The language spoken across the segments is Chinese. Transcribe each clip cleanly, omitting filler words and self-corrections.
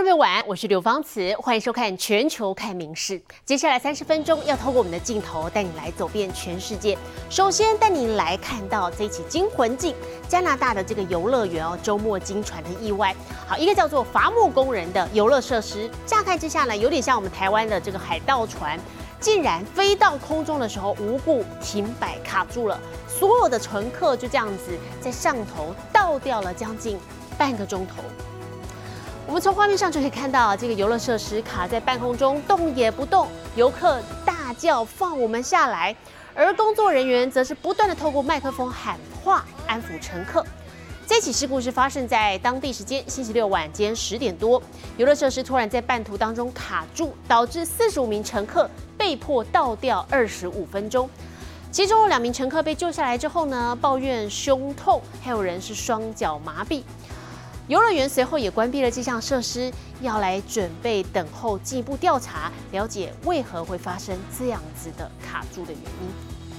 朋友晚安，我是刘芳慈，欢迎收看《全球看名事》。接下来30分钟要透过我们的镜头带你来走遍全世界。首先带你来看到这起惊魂记，加拿大的这个游乐园周末惊传的意外。好，一个叫做伐木工人的游乐设施，乍看之下呢，有点像我们台湾的这个海盗船，竟然飞到空中的时候无故停摆卡住了，所有的乘客就这样子在上头倒掉了将近半个钟头。我们从画面上就可以看到，这个游乐设施卡在半空中，动也不动，游客大叫放我们下来，而工作人员则是不断的透过麦克风喊话安抚乘客。这起事故是发生在当地时间星期六晚间10点多，游乐设施突然在半途当中卡住，导致45名乘客被迫倒吊25分钟。其中有2名乘客被救下来之后呢，抱怨胸痛，还有人是双脚麻痹。游乐园随后也关闭了这项设施，要来准备等候进一步调查，了解为何会发生这样子的卡住的原因。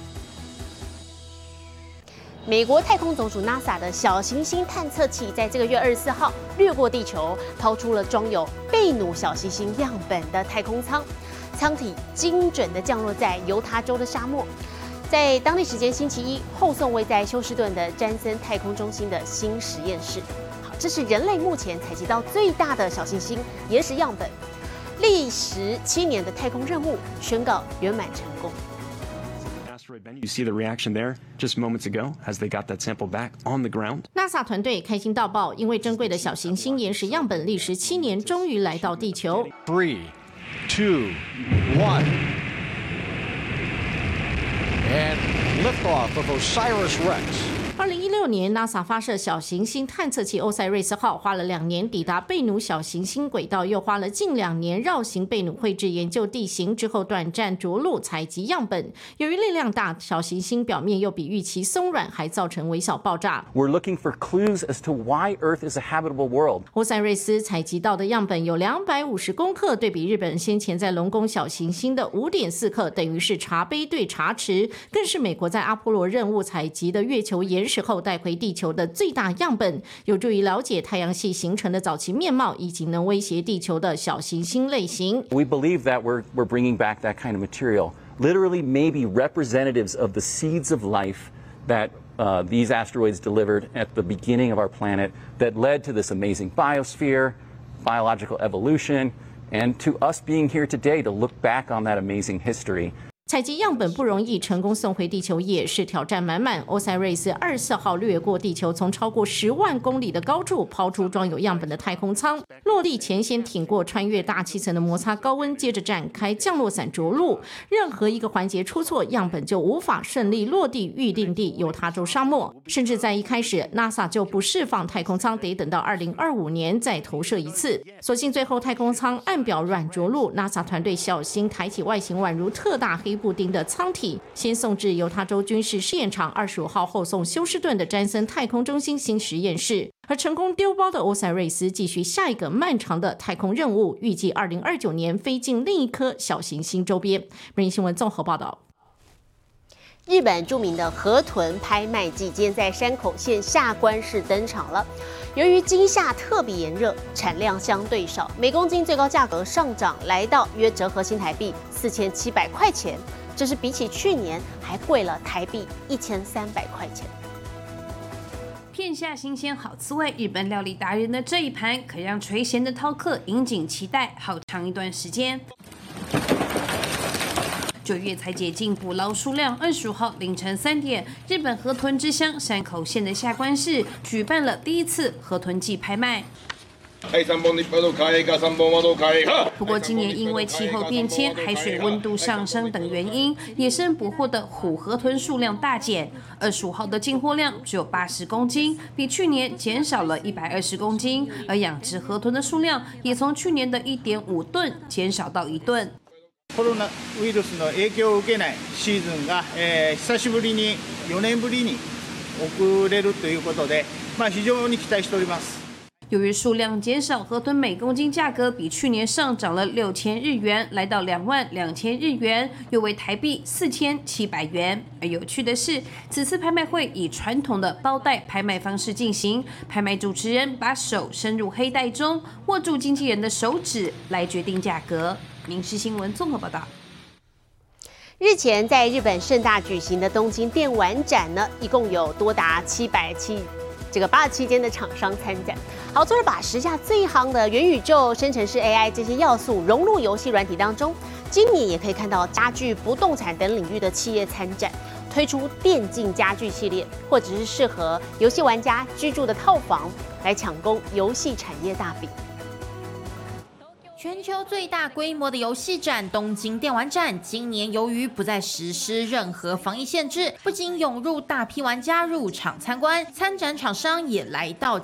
美国太空总署 NASA 的小行星探测器在这个月24号掠过地球，抛出了装有贝努小行星样本的太空舱，舱体精准地降落在犹他州的沙漠。在当地时间星期一后送位在休斯顿的詹森太空中心的新实验室。这是人类目前采集到最大的小行星岩石样本，历时7年的太空任务宣告圆满成功。 You see the reaction there just moments ago as they got that sample back on the ground. NASA 团队开心到爆，因为珍贵的小行星岩石样本历时7年，终于来到地球。 3, 2, 1, and liftoff of OSIRIS-REx. 2016年 ，NASA 发射小行星探测器欧塞瑞斯号，花了2年抵达贝努小行星轨道，又花了近2年绕行贝努绘制研究地形，之后短暂着陆采集样本。由于力量大，小行星表面又比预期松软，还造成微小爆炸。 We're looking for clues as to why Earth is a habitable world. 欧塞瑞斯采集到的样本有250公克，对比日本先前在龙宫小行星的5.4克，等于是茶杯对茶匙，更是美国在阿波罗任务采集的月球岩石后带回地球的最大样本，有助于了解太阳系形成的早期面貌，以及能威胁地球的小行星类型。 We believe that we're bringing back that kind of material, literally maybe representatives of the seeds of life that these asteroids delivered at the beginning of our planet that led to this amazing biosphere, biological evolution, and to us being here today to look back on that amazing history. 采集样本不容易，成功送回地球也是挑战满满。欧塞瑞斯24号掠过地球，从超过10万公里的高处抛出装有样本的太空舱，落地前先挺过穿越大气层的摩擦高温，接着展开降落伞着陆。任何一个环节出错，样本就无法顺利落地预定地犹他州沙漠。甚至在一开始 ，NASA 就不释放太空舱，得等到2025年再投射一次。所幸最后太空舱按表软着陆 ，NASA 团队小型抬起外形宛如特大黑布丁的舱体，先送至犹他州军事试验场，25号后送休斯顿的詹森太空中心新实验室。而成功丢包的欧塞瑞斯继续下一个漫长的太空任务，预计2029年飞进另一颗小行星周边。每日新闻综合报道。 日本著名的河豚拍卖季今天在山口县下关市登场了。由于今夏特别炎热，产量相对少，每公斤最高价格上涨，来到约折合新台币4700块钱，这是比起去年还贵了台币1300块钱。 片下新鲜好滋味，日本料理达人的这一盘可让垂涎的饕客引颈期待好长一段时间。9月才解禁捕捞数量，25号凌晨3点，日本河豚之乡山口县的下关市举办了第一次河豚季拍卖。不过今年因为气候变迁、海水温度上升等原因，野生捕获的虎河豚数量大减。25号的进货量只有80公斤，比去年减少了120公斤，而养殖河豚的数量也从去年的1.5吨减少到1吨。 コロナウイルスの影響を受けないシーズンが、久しぶりに4年ぶりに遅れるということで、非常に期待しております。 由于数量减少，河豚每公斤价格比去年上涨了6000日元，来到22000日元，约为台币4700元。而有趣的是，此次拍卖会以传统的包袋拍卖方式进行，拍卖主持人把手伸入黑袋中，握住经纪人的手指来决定价格。民视新闻综合报道。 日前在日本盛大举行的东京电玩展呢，一共有多达87间的厂商参展。好，除了把时下最夯的元宇宙、生成式 AI 这些要素融入游戏软体当中，今年也可以看到家具、不动产等领域的企业参展，推出电竞家具系列，或者是适合游戏玩家居住的套房，来抢攻游戏产业大饼。 全球最大规模的游戏展东京电玩展，今年由于不再实施任何防疫限制，不仅涌入大批玩家入场参观，参展厂商也来到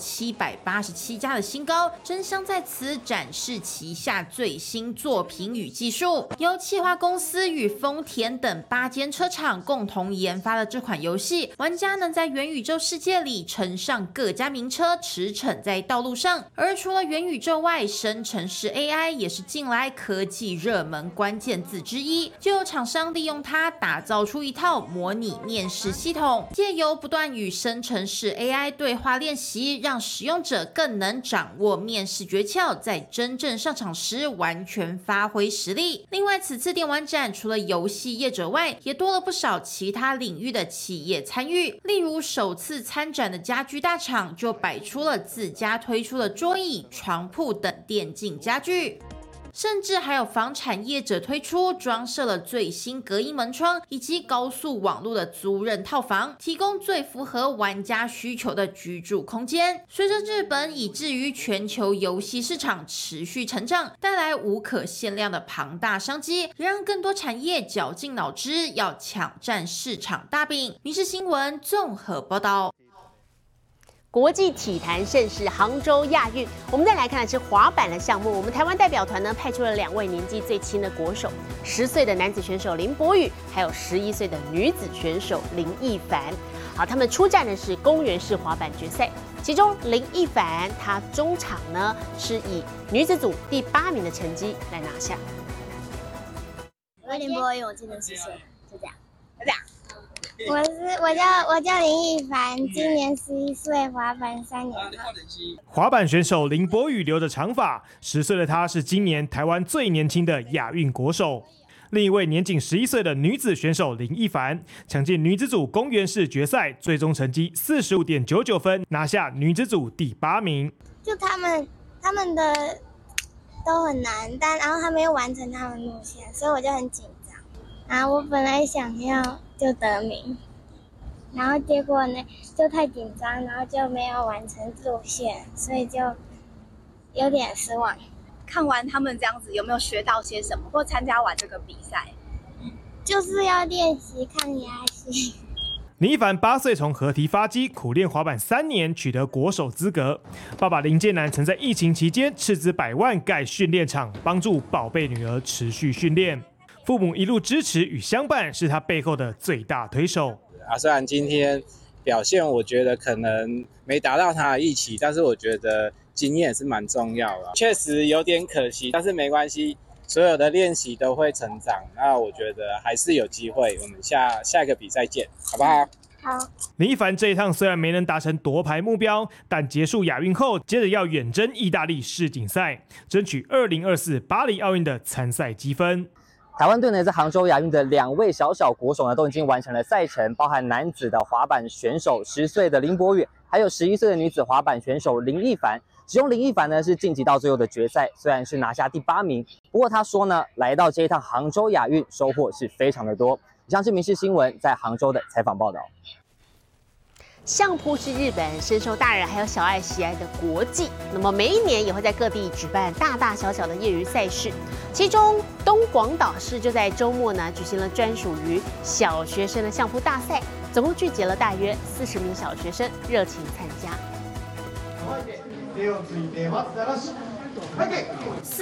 787家的新高，争相在此展示旗下最新作品与技术。由企划公司与丰田等8间车厂共同研发的这款游戏，玩家能在元宇宙世界里乘上各家名车，驰骋在道路上。而除了元宇宙外，生成式 AI也是近来科技热门关键字之一，就有厂商利用它打造出一套模拟面试系统，借由不断与生成式 AI 对话练习，让使用者更能掌握面试诀窍，在真正上场时完全发挥实力。另外，此次电玩展除了游戏业者外，也多了不少其他领域的企业参与，例如首次参展的家居大厂就摆出了自家推出的桌椅、床铺等电竞家具。甚至还有房产业者推出装设了最新隔音门窗以及高速网络的租赁套房，提供最符合玩家需求的居住空间。随着日本以至于全球游戏市场持续成长，带来无可限量的庞大商机，也让更多产业绞尽脑汁要抢占市场大饼。民视新闻综合报道。 国际体坛盛事杭州亚运，我们再来看的是滑板的项目。我们台湾代表团呢派出了2位年纪最轻的国手，10岁的男子选手林博宇，还有11岁的女子选手林奕凡。好，他们出战的是公园式滑板决赛，其中林奕凡她中场呢是以女子组第8名的成绩来拿下。 我林博宇，我今年10岁，就这样，就这样。我叫林奕凡，今年11岁，滑板3年了。 滑板选手林博宇留着长发，10岁的他是今年台湾最年轻的亚运国手。另一位年仅11岁的女子选手林奕凡，抢进女子组公园式决赛，最终成绩45.99分，拿下女子组第8名。 就他们的都很难，然后他们又完成他们路线，所以我就很紧张。然后我本来想要就得名，然后结果呢就太紧张，然后就没有完成路线，所以就有点失望。 看完他们这样子，有没有学到些什么？或参加完这个比赛， 就是要练习抗压性。 林奕凡8岁从合体发迹，苦练滑板3年，取得国手资格。爸爸林建南曾在疫情期间斥资100万盖训练场，帮助宝贝女儿持续训练。父母一路支持与相伴，是他背后的最大推手。 虽然今天表现我觉得可能没达到他的预期，但是我觉得经验也是蛮重要的。确实有点可惜，但是没关系，所有的练习都会成长。那我觉得还是有机会，我们下一个比赛见，好不好？ 好。 林奕凡这一趟虽然没能达成夺牌目标，但结束亚运后，接着要远征意大利世锦赛，争取2024巴黎奥运的参赛积分。 台湾队呢，在杭州亚运的2位小国手呢，都已经完成了赛程，包含男子的滑板选手10岁的林博宇，还有11岁的女子滑板选手林奕凡。其中林奕凡呢是晋级到最后的决赛，虽然是拿下第8名，不过他说呢，来到这一趟杭州亚运收获是非常的多。以上是民视新闻在杭州的采访报道。 相扑是日本深受大人还有小爱喜爱的国际，那么每一年也会在各地举办大大小小的业余赛事，其中东广岛市就在周末呢举行了专属于小学生的相扑大赛，总共聚集了大约40名小学生热情参加。 司仪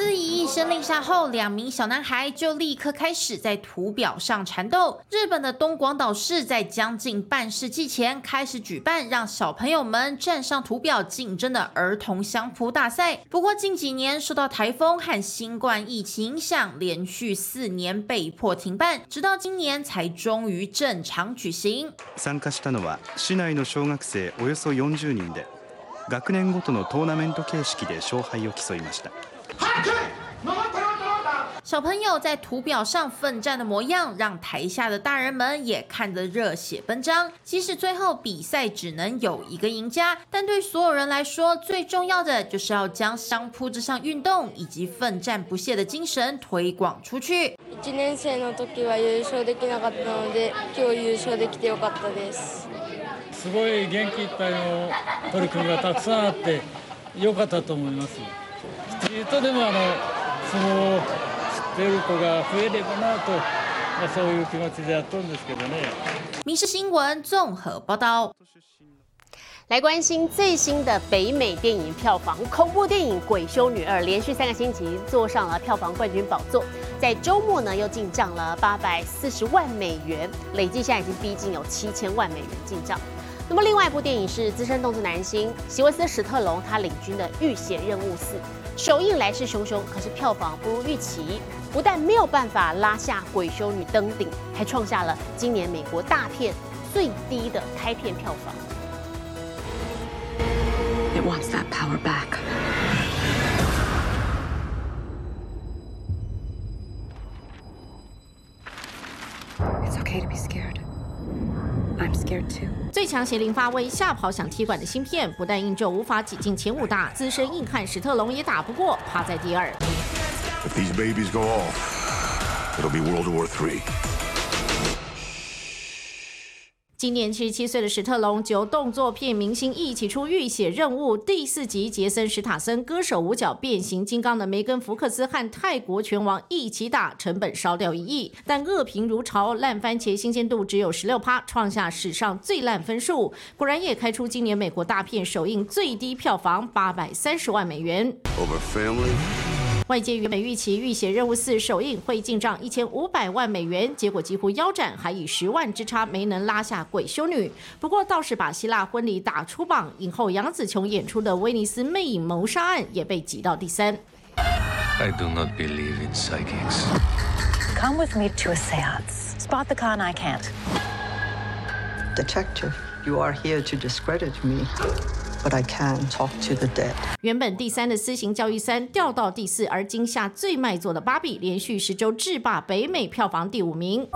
一声令下后，2名小男孩就立刻开始在图表上缠斗。日本的东广岛市在将近半世纪前开始举办让小朋友们站上图表竞争的儿童相扑大赛。不过近几年受到台风和新冠疫情影响，连续4年被迫停办，直到今年才终于正常举行。 参加したのは市内の小学生およそ40人で、学年ごとのトーナメント形式で勝敗を競いました。 小朋友在图表上奋战的模样，让台下的大人们也看得热血奔张。即使最后比赛只能有1个赢家，但对所有人来说，最重要的就是要将相扑这项运动以及奋战不懈的精神推广出去。 1年生の時は優勝できなかったので、今日優勝できてよかったです。 すごい元気いっぱいの取り組みがたくさんあって良かったと思います。きっとでも相撲知ってる子が増えればなと、そういう気持ちでやっとるんですけどね。 民视新闻综合报道。 来关心最新的北美电影票房，恐怖电影《鬼修女2》连续3个星期坐上了票房冠军宝座，在周末呢又进账了840万美元，累计现在已经逼近有7000万美元进账。那么另外一部电影是资深动作男星席维斯·史特龙他领军的《浴血任务4》，首映来势汹汹，可是票房不如预期，不但没有办法拉下《鬼修女》登顶，还创下了今年美国大片最低的开片票房。 It wants that power back. It's okay to be scared. I'm scared too. 最强邪灵发威，吓跑想踢馆的芯片，不但硬咒无法挤进前5大，资深硬汉史特龙也打不过，趴在第2。 If these babies go off, it'll be World War III. 今年77岁的史特龙，由动作片明星一起出《浴血任务》第4集，杰森·史塔森歌手5角变形金刚的梅根·福克斯和泰国拳王一起打，成本烧掉1亿，但恶评如潮，烂番茄新鲜度只有16%，创下史上最烂分数。果然也开出今年美国大片首映最低票房830万美元。 Over family. 外界原本预期《浴血任务4》首映会进账1500万美元，结果几乎腰斩，还以10万之差没能拉下《鬼修女》。不过倒是把希腊婚礼打出榜，影后杨紫琼演出的《威尼斯魅影谋杀案》也被挤到第3。 I do not believe in psychics. Come with me to a seance. Spot the con I can't. Detective, you are here to discredit me.But I can talk to the dead. 原本第3的私刑教育3掉到第4，而今夏最卖座的芭比连续10周制霸北美票房第5名。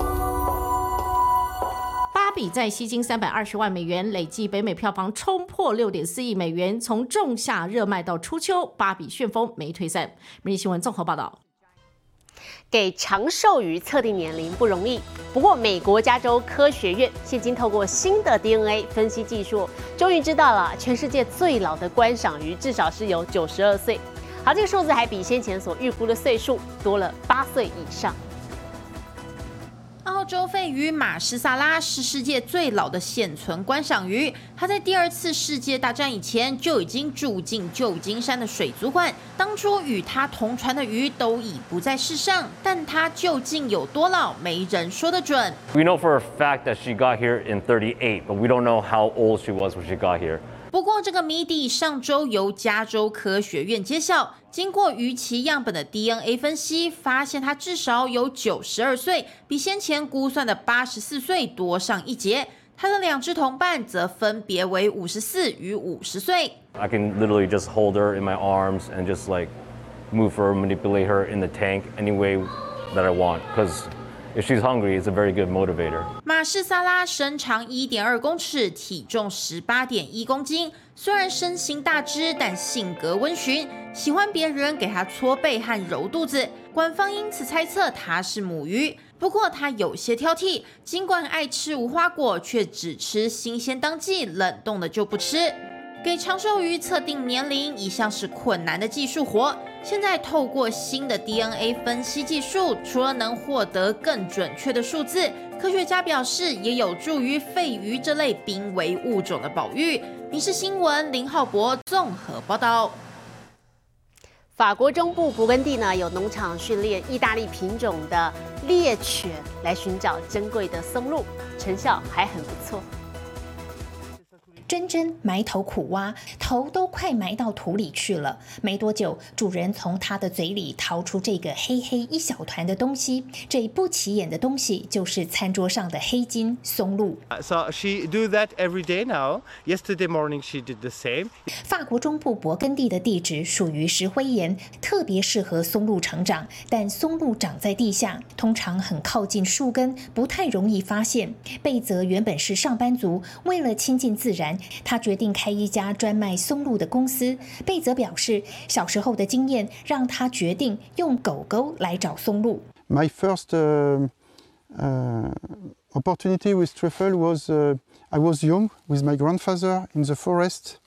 芭比在吸金320万美元，累计北美票房冲破6.4亿美元，从仲夏热卖到初秋，芭比旋风没退散。每日新闻综合报道。 给长寿鱼测定年龄不容易，不过美国加州科学院现今透过新的 DNA 分析技术，终于知道了全世界最老的观赏鱼至少是有92岁。好，这个数字还比先前所预估的岁数多了8岁以上。 澳洲鲱鱼马士萨拉是世界最老的现存观赏鱼，它在第2次世界大战以前就已经住进旧金山的水族馆。当初与它同船的鱼都已不在世上，但它究竟有多老，没人说得准。 We know for a fact that she got here in 38, but we don't know how old she was when she got here. 不过，这个谜底上周由加州科学院揭晓。经过鱼鳍样本的 DNA 分析，发现它至少有92岁，比先前估算的84岁多上1截。它的2只同伴则分别为54与50岁。 I can literally just hold her in my arms and just like move her, manipulate her in the tank any way that I want, because if she's hungry, it's a very good motivator. 马士萨拉身长1.2公尺，体重18.1公斤。虽然身形大只，但性格温驯，喜欢别人给它搓背和揉肚子。官方因此猜测它是母鱼。不过它有些挑剔，尽管爱吃无花果，却只吃新鲜当季，冷冻的就不吃。给长寿鱼测定年龄一向是困难的技术活，现在透过新的 DNA 分析技术，除了能获得更准确的数字，科学家表示也有助于鲱鱼这类濒危物种的保育。民视新闻林浩博综合报道。 法国中部勃艮第呢有农场训练意大利品种的猎犬来寻找珍贵的松露，成效还很不错。 珍珍埋头苦挖，头都快埋到土里去了。没多久，主人从她的嘴里掏出这个黑黑一小团的东西，这不起眼的东西就是餐桌上的黑金松露。 So she do that every day now. Yesterday morning she did the same. 法国中部勃艮第的地质属于石灰岩，特别适合松露成长，但松露长在地下，通常很靠近树根，不太容易发现。贝泽原本是上班族，为了亲近自然，他决定开一家专卖松露的公司。贝泽表示，小时候的经验让他决定用狗狗来找松露。 My first opportunity with truffle was I was young with my grandfather in the forest.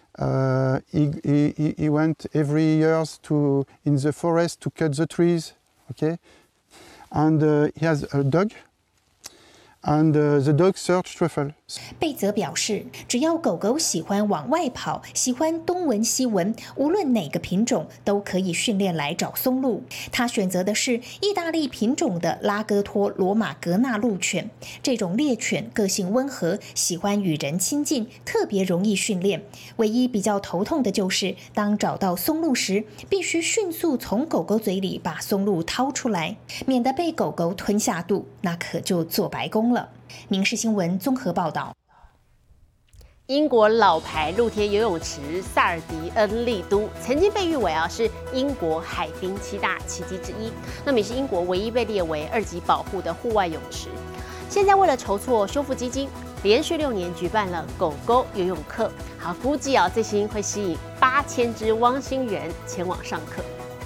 He went every year in the forest to cut the trees, okay? And he has a dog. And the dog searched truffle. 贝泽表示，只要狗狗喜欢往外跑，喜欢东闻西闻，无论哪个品种都可以训练来找松露。他选择的是意大利品种的拉戈托罗马格纳鹿犬。这种猎犬个性温和，喜欢与人亲近，特别容易训练。唯一比较头痛的就是，当找到松露时，必须迅速从狗狗嘴里把松露掏出来，免得被狗狗吞下肚，那可就做白工了。民视新闻综合报道。 英国老牌露天游泳池萨尔迪恩利都曾经被誉为是英国海滨7大奇迹之一，那么也是英国唯一被列为2级保护的户外泳池。现在为了筹措修复基金，连续6年举办了狗狗游泳课，好，估计最新会吸引8000只汪星人前往上课。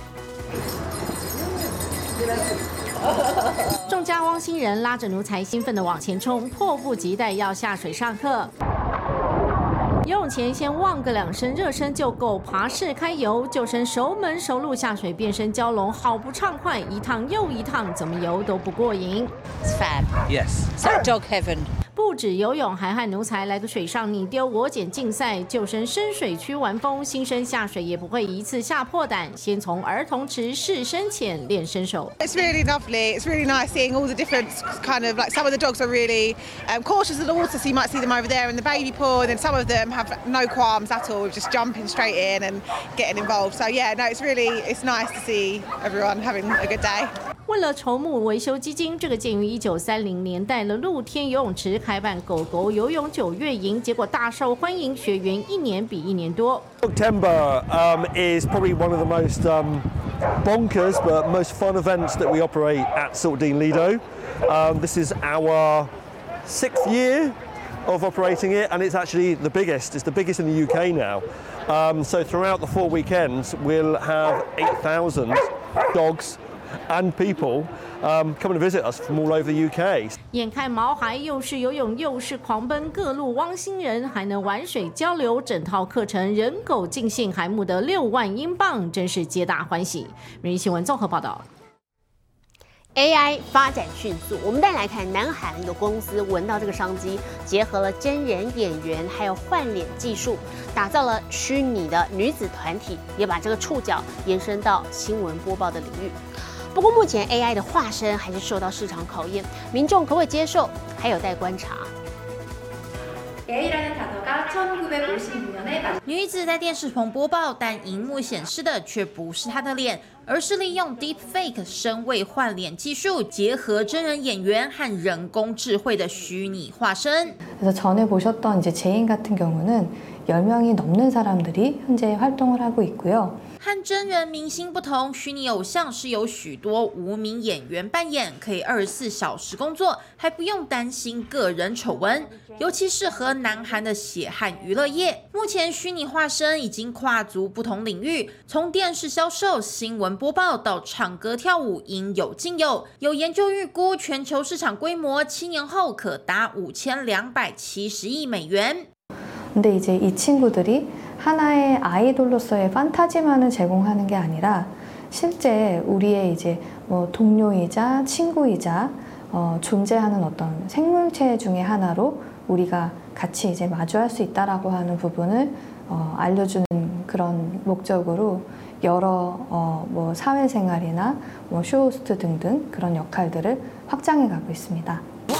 众家汪星人拉着奴才兴奋地往前冲，迫不及待要下水上课。游泳前先汪个2声热身就狗爬式开游，救生熟门熟路下水变身蛟龙，好不畅快，一趟又一趟，怎么游都不过瘾。 It's fab. Yes. It's like dog heaven. 不止游泳，还和奴才来个水上你丢我捡竞赛，救生深水区玩疯，新生下水也不会一次吓破胆，先从儿童池试深潜练身手。 It's really lovely. It's really nice seeing all the different kind of some of the dogs are really cautious of the water, so you might see them over there in the baby pool, and then some of them have no qualms at all, just jumping straight in and getting involved. So yeah, no, it's nice to see everyone having a good day. 为了筹募维修基金，这个建于1930年代的露天游泳池开办狗狗游泳9月营，结果大受欢迎，学员1年比1年多。 September is probably one of the most bonkers but most fun events that we operate at Siltdean Lido. This is our 6th year of operating it, and it's actually the biggest. It's the biggest in the UK now. So throughout the 4 weekends, we'll have 8,000 dogs and people come and visit us from all over the UK. 眼看毛孩又是游泳又是狂奔，各路汪星人还能玩水交流，整套课程人狗尽兴，还募得6万英镑，真是皆大欢喜。民新闻综合报道。 AI 发展迅速，我们再来看南韩有公司闻到这个商机，结合了真人演员还有换脸技术，打造了虚拟的女子团体，也把这个触角延伸到新闻播报的领域。不过目前 AI 的化身还是受到市场考验，民众可不可以接受，还有待观察。 女子在电视棚播报，但荧幕显示的却不是她的脸，而是利用 Deepfake 声位换脸技术，结合真人演员和人工智慧的虚拟化身。 그래서 전에 보셨던 이제 제인 같은 경우는 10명이 넘는 사람들이 현재 활동을 하고 있고요. 和真人明星不同，虚拟偶像是由许多无名演员扮演，可以24小时工作，还不用担心个人丑闻，尤其适合南韩的血汗娱乐业。目前虚拟化身已经跨足不同领域，从电视销售、新闻播报到唱歌跳舞，应有尽有。有研究预估，全球市场规模7年后可达5270亿美元。 근데 이제 이 친구들이 하나의 아이돌로서의 판타지만을 제공하는 게 아니라 실제 우리의 이제 뭐 동료이자 친구이자 존재하는 어떤 생물체 중에 하나로 우리가 같이 이제 마주할 수 있다라고 하는 부분을 알려주는 그런 목적으로 여러 뭐 사회생활이나 뭐 쇼호스트 등등 그런 역할들을 확장해 가고 있습니다.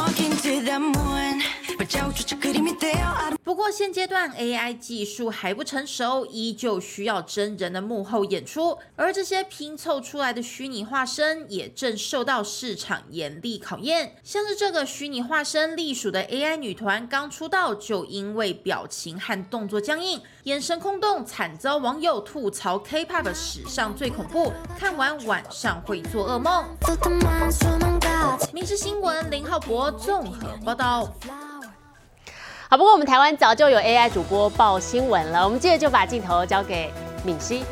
不过现阶段 AI 技术还不成熟，依旧需要真人的幕后演出，而这些拼凑出来的虚拟化身也正受到市场严厉考验。像是这个虚拟化身隶属的 AI 女团，刚出道就因为表情和动作僵硬、眼神空洞，惨遭网友吐槽 K-pop 史上最恐怖，看完晚上会做噩梦。民视新闻林浩博综合报道。 好，不过我们台湾早就有 AI 主播报新闻了，我们接着就把镜头交给敏熙。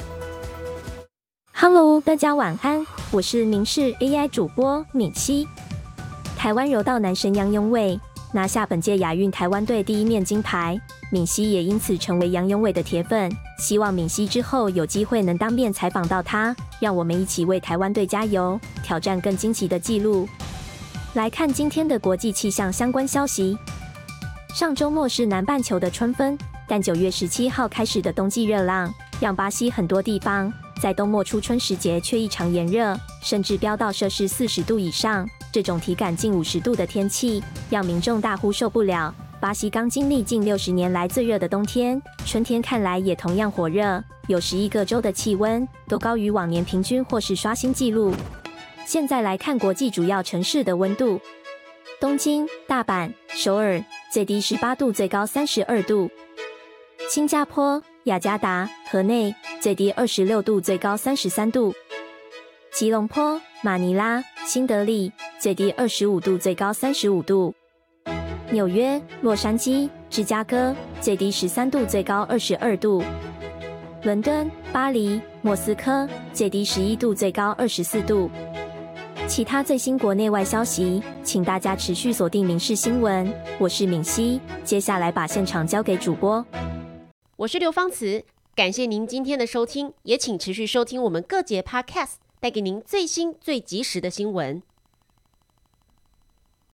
Hello， 大家晚安，我是民视 AI 主播敏熙。台湾柔道男神杨永伟拿下本届亚运台湾队第1面金牌，敏熙也因此成为杨永伟的铁粉。希望敏熙之后有机会能当面采访到他，让我们一起为台湾队加油，挑战更惊奇的纪录。来看今天的国际气象相关消息。上周末是南半球的春分，但9月17号开始的冬季热浪，让巴西很多地方在冬末初春时节却异常炎热，甚至飙到摄氏40度以上。这种体感近50度的天气，让民众大呼受不了。巴西刚经历近60年来最热的冬天，春天看来也同样火热，有11个州的气温都高于往年平均或是刷新纪录。现在来看国际主要城市的温度。东京、大阪、首尔最低18度，最高32度；新加坡、雅加达、河内最低26度，最高33度；吉隆坡、马尼拉、新德里最低25度，最高35度；纽约、洛杉矶、芝加哥最低13度，最高22度；伦敦、巴黎、莫斯科最低11度，最高24度。其他最新国内外消息，请大家持续锁定民视新闻。我是敏熙，接下来把现场交给主播。 我是刘芳慈，感谢您今天的收听，也请持续收听我们各节 Podcast， 带给您最新最及时的新闻。